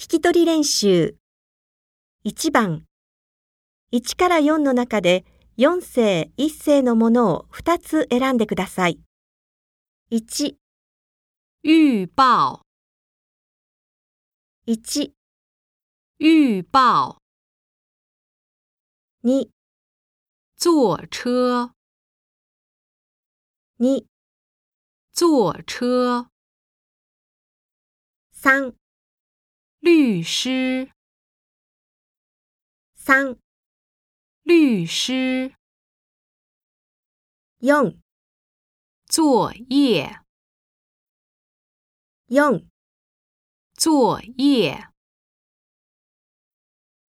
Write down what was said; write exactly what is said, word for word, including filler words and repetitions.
聞き取り練習。いちばん、いちからよんの中でよん世、いち世のものをふたつ選んでください。いち、 预报いち、 预报に、 坐车に、 坐车さん、 律师さん、 律师よん、 作业よん、 作业